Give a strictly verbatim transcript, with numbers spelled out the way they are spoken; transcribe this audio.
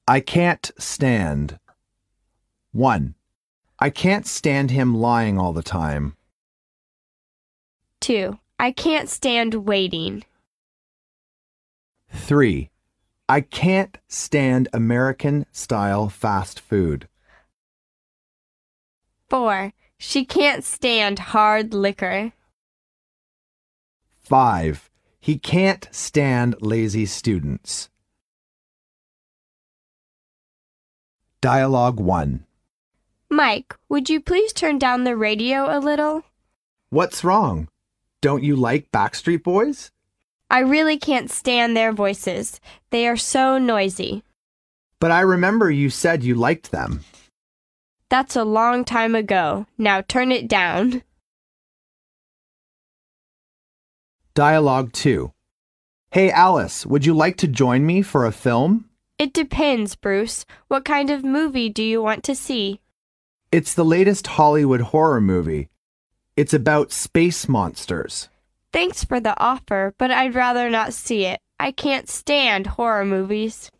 I can't stand. one. I can't stand him lying all the time. two. I can't stand waiting. three. I can't stand American-style fast food. four. She can't stand hard liquor. five. He can't stand lazy students. Dialogue one. Mike, would you please turn down the radio a little? What's wrong? Don't you like Backstreet Boys? I really can't stand their voices. They are so noisy. But I remember you said you liked them. That's a long time ago. Now turn it down. Dialogue two. Hey Alice, would you like to join me for a film? It depends, Bruce. What kind of movie do you want to see? It's the latest Hollywood horror movie. It's about space monsters. Thanks for the offer, but I'd rather not see it. I can't stand horror movies.